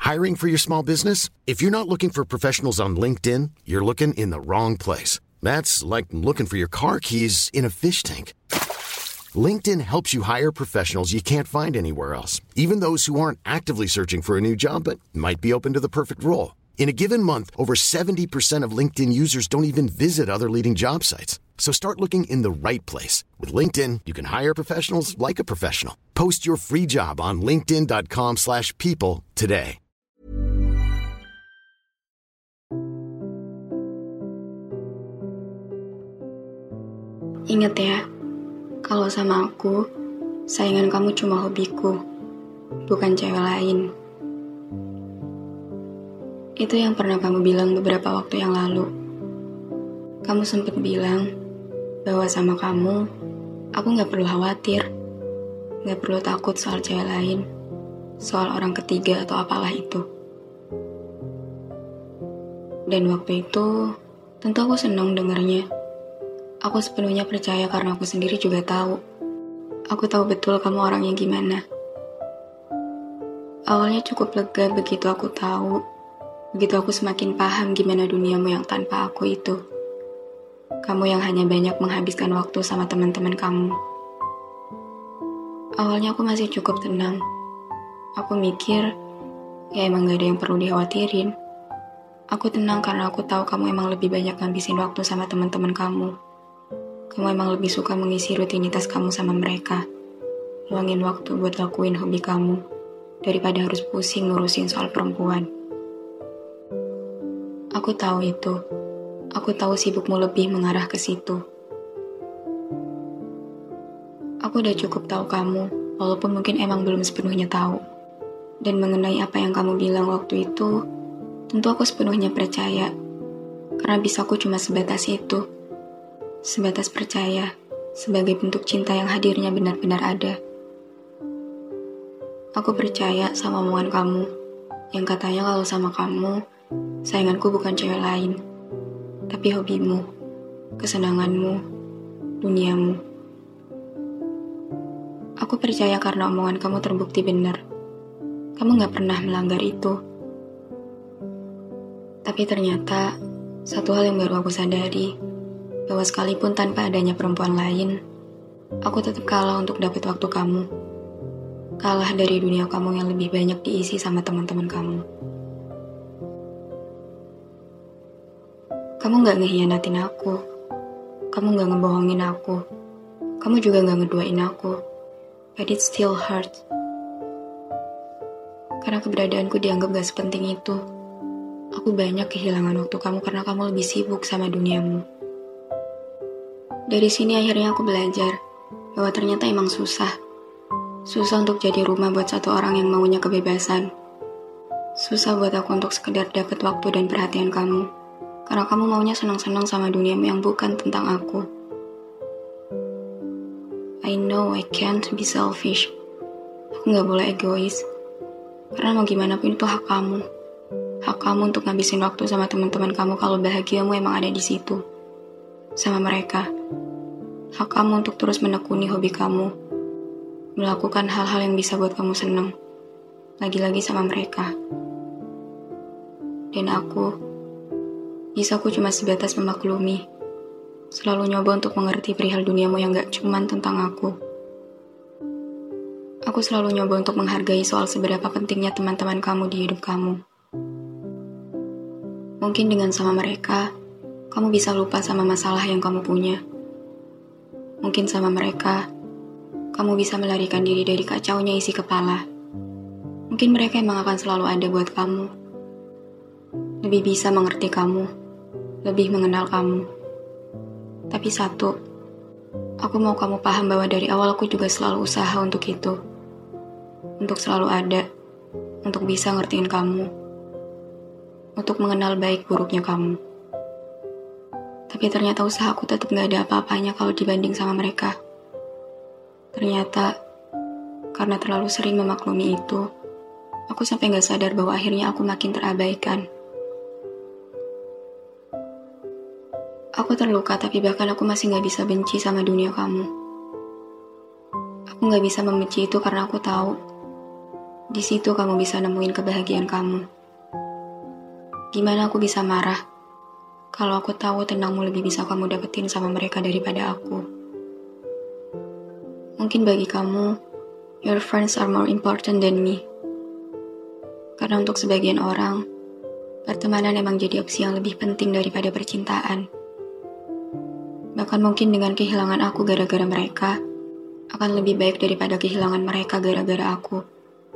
Hiring for your small business? If you're not looking for professionals on LinkedIn, you're looking in the wrong place. That's like looking for your car keys in a fish tank. LinkedIn helps you hire professionals you can't find anywhere else, even those who aren't actively searching for a new job but might be open to the perfect role. In a given month, over 70% of LinkedIn users don't even visit other leading job sites. So start looking in the right place. With LinkedIn, you can hire professionals like a professional. Post your free job on linkedin.com/people today. Ingat ya, kalau sama aku, sayangan kamu cuma hobiku, bukan cewek lain. Itu yang pernah kamu bilang beberapa waktu yang lalu. Kamu sempat bilang bahwa sama kamu, aku gak perlu khawatir, gak perlu takut soal cewek lain, soal orang ketiga atau apalah itu. Dan waktu itu, tentu aku senang dengarnya. Aku sepenuhnya percaya karena aku sendiri juga tahu. Aku tahu betul kamu orangnya gimana. Awalnya cukup lega begitu aku tahu. Begitu aku semakin paham gimana duniamu yang tanpa aku itu. Kamu yang hanya banyak menghabiskan waktu sama teman-teman kamu. Awalnya aku masih cukup tenang. Aku mikir, ya emang gak ada yang perlu dikhawatirin. Aku tenang karena aku tahu kamu emang lebih banyak ngabisin waktu sama teman-teman kamu. Kamu emang lebih suka mengisi rutinitas kamu sama mereka. Luangin waktu buat lakuin hobi kamu, daripada harus pusing ngurusin soal perempuan. Aku tahu itu. Aku tahu sibukmu lebih mengarah ke situ. Aku udah cukup tahu kamu, walaupun mungkin emang belum sepenuhnya tahu. Dan mengenai apa yang kamu bilang waktu itu, tentu aku sepenuhnya percaya. Karena bisaku cuma sebatas itu. Sebatas percaya, sebagai bentuk cinta yang hadirnya benar-benar ada. Aku percaya sama omongan kamu, yang katanya kalau sama kamu, sayanganku bukan cewek lain, tapi hobimu, kesenanganmu, duniamu. Aku percaya karena omongan kamu terbukti benar. Kamu gak pernah melanggar itu. Tapi ternyata, satu hal yang baru aku sadari, bahwa sekalipun tanpa adanya perempuan lain, aku tetap kalah untuk dapat waktu kamu. Kalah dari dunia kamu yang lebih banyak diisi sama teman-teman kamu. Kamu gak ngehianatin aku. Kamu gak ngebohongin aku. Kamu juga gak ngeduain aku. But it still hurts. Karena keberadaanku dianggap gak sepenting itu. Aku banyak kehilangan waktu kamu karena kamu lebih sibuk sama duniamu. Dari sini akhirnya aku belajar bahwa ternyata emang susah. Susah untuk jadi rumah buat satu orang yang maunya kebebasan. Susah buat aku untuk sekedar dapat waktu dan perhatian kamu. Karena kamu maunya senang-senang sama duniamu yang bukan tentang aku. I know I can't be selfish. Aku gak boleh egois. Karena mau gimana pun itu hak kamu. Hak kamu untuk ngabisin waktu sama teman-teman kamu kalau bahagiamu emang ada di situ. Sama mereka. Hak kamu untuk terus menekuni hobi kamu. Melakukan hal-hal yang bisa buat kamu senang. Lagi-lagi sama mereka. Dan aku cuma sebatas memaklumi. Selalu nyoba untuk mengerti perihal duniamu yang gak cuman tentang aku. Aku selalu nyoba untuk menghargai soal seberapa pentingnya teman-teman kamu di hidup kamu. Mungkin dengan sama mereka, kamu bisa lupa sama masalah yang kamu punya. Mungkin sama mereka, kamu bisa melarikan diri dari kacaunya isi kepala. Mungkin mereka emang akan selalu ada buat kamu. Lebih bisa mengerti kamu, lebih mengenal kamu. Tapi satu, aku mau kamu paham bahwa dari awal aku juga selalu usaha untuk itu. Untuk selalu ada, untuk bisa ngertiin kamu. Untuk mengenal baik buruknya kamu. Tapi ternyata usahaku tetap gak ada apa-apanya kalau dibanding sama mereka. Ternyata, karena terlalu sering memaklumi itu, aku sampai gak sadar bahwa akhirnya aku makin terabaikan. Aku terluka, tapi bahkan aku masih gak bisa benci sama dunia kamu. Aku gak bisa membenci itu karena aku tahu, Di situ kamu bisa nemuin kebahagiaan kamu. Gimana aku bisa marah kalau aku tahu tenangmu lebih bisa kamu dapetin sama mereka daripada aku? Mungkin bagi kamu, your friends are more important than me. Karena untuk sebagian orang, pertemanan emang jadi opsi yang lebih penting daripada percintaan. Bahkan mungkin dengan kehilangan aku gara-gara mereka, akan lebih baik daripada kehilangan mereka gara-gara aku.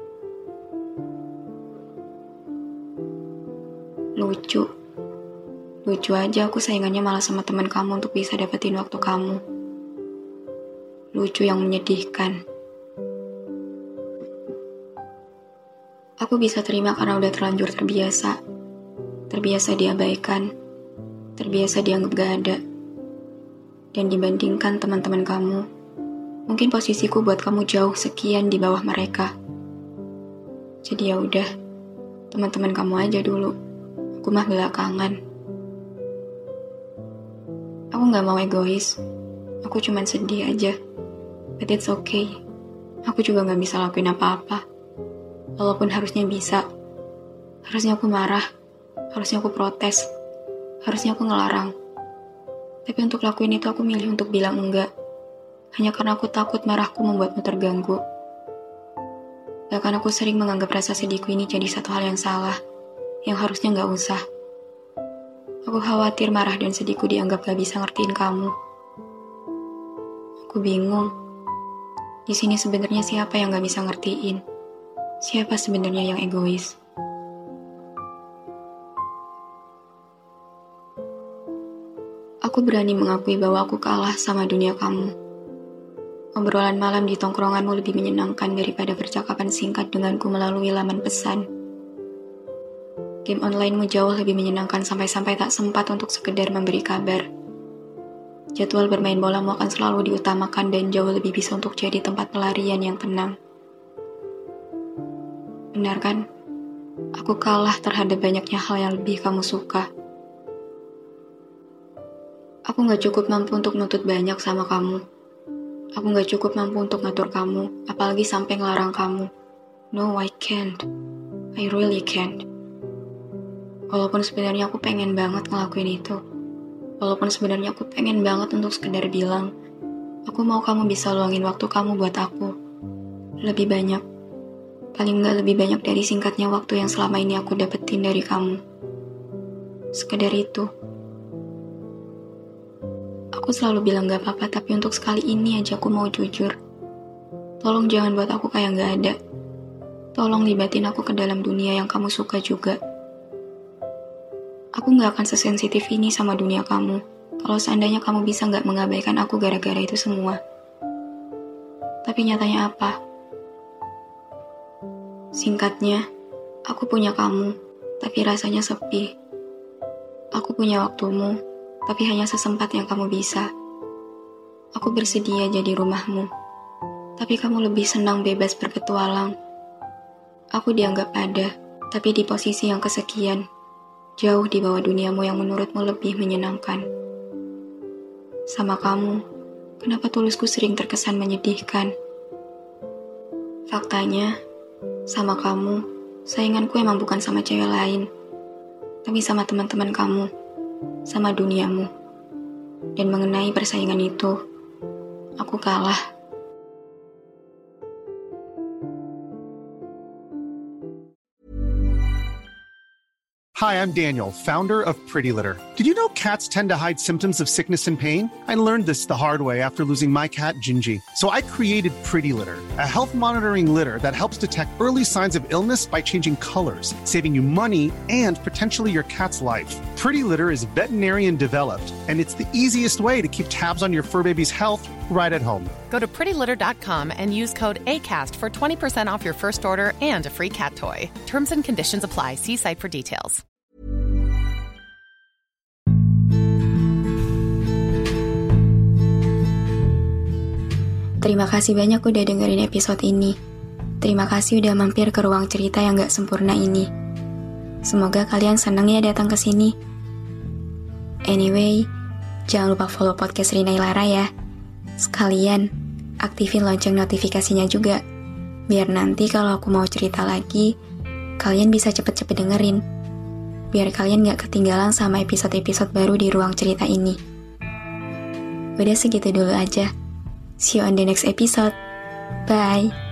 Lucu aja aku saingannya malah sama teman kamu untuk bisa dapetin waktu kamu. Lucu yang menyedihkan. Aku bisa terima karena udah terlanjur terbiasa. Terbiasa diabaikan. Terbiasa dianggap gak ada. Dan dibandingkan teman-teman kamu, mungkin posisiku buat kamu jauh sekian di bawah mereka. Jadi ya udah, teman-teman kamu aja dulu. Aku mah belakangan. Aku gak mau egois. Aku cuman sedih aja. But it's okay. Aku juga gak bisa lakuin apa-apa. Walaupun harusnya bisa. Harusnya aku marah. Harusnya aku protes. Harusnya aku ngelarang. Tapi untuk lakuin itu aku milih untuk bilang enggak. Hanya karena aku takut marahku membuatmu terganggu. Bahkan aku sering menganggap rasa sedihku ini jadi satu hal yang salah. Yang harusnya gak usah. Aku khawatir marah dan sedihku dianggap gak bisa ngertiin kamu. Aku bingung. Di sini sebenarnya siapa yang gak bisa ngertiin? Siapa sebenarnya yang egois? Aku berani mengakui bahwa aku kalah sama dunia kamu. Obrolan malam di tongkronganmu lebih menyenangkan daripada percakapan singkat denganku melalui laman pesan. Game online-mu jauh lebih menyenangkan sampai-sampai tak sempat untuk sekedar memberi kabar. Jadwal bermain bolamu akan selalu diutamakan dan jauh lebih bisa untuk jadi tempat pelarian yang tenang. Benar kan? Aku kalah terhadap banyaknya hal yang lebih kamu suka. Aku gak cukup mampu untuk nuntut banyak sama kamu. Aku gak cukup mampu untuk ngatur kamu, apalagi sampai ngelarang kamu. No, I can't. I really can't. Walaupun sebenarnya aku pengen banget ngelakuin itu. Walaupun sebenarnya aku pengen banget untuk sekedar bilang, aku mau kamu bisa luangin waktu kamu buat aku. Lebih banyak. Paling nggak lebih banyak dari singkatnya waktu yang selama ini aku dapetin dari kamu. Sekedar itu. Aku selalu bilang gak apa-apa, tapi untuk sekali ini aja aku mau jujur. Tolong jangan buat aku kayak gak ada. Tolong libatin aku ke dalam dunia yang kamu suka juga. Aku gak akan sesensitif ini sama dunia kamu, kalau seandainya kamu bisa gak mengabaikan aku gara-gara itu semua. Tapi nyatanya apa? Singkatnya, aku punya kamu, tapi rasanya sepi. Aku punya waktumu, tapi hanya sesempat yang kamu bisa. Aku bersedia jadi rumahmu, tapi kamu lebih senang bebas berpetualang. Aku dianggap ada, tapi di posisi yang kesekian. Jauh di bawah duniamu yang menurutmu lebih menyenangkan. Sama kamu, kenapa tulusku sering terkesan menyedihkan? Faktanya, sama kamu, sainganku emang bukan sama cewek lain, tapi sama teman-teman kamu, sama duniamu. Dan mengenai persaingan itu, aku kalah. Hi, I'm Daniel, founder of Pretty Litter. Did you know cats tend to hide symptoms of sickness and pain? I learned this the hard way after losing my cat, Gingy. So I created Pretty Litter, a health monitoring litter that helps detect early signs of illness by changing colors, saving you money and potentially your cat's life. Pretty Litter is veterinarian developed, and it's the easiest way to keep tabs on your fur baby's health right at home. Go to prettylitter.com and use code ACAST for 20% off your first order and a free cat toy. Terms and conditions apply. See site for details. Terima kasih banyak udah dengerin episode ini. Terima kasih udah mampir ke ruang cerita yang gak sempurna ini. Semoga kalian senang ya datang ke sini. Anyway, jangan lupa follow podcast Rina Ilara ya. Sekalian, aktifin lonceng notifikasinya juga. Biar nanti kalau aku mau cerita lagi, kalian bisa cepet-cepet dengerin. Biar kalian gak ketinggalan sama episode-episode baru di ruang cerita ini. Udah segitu dulu aja. See you on the next episode. Bye.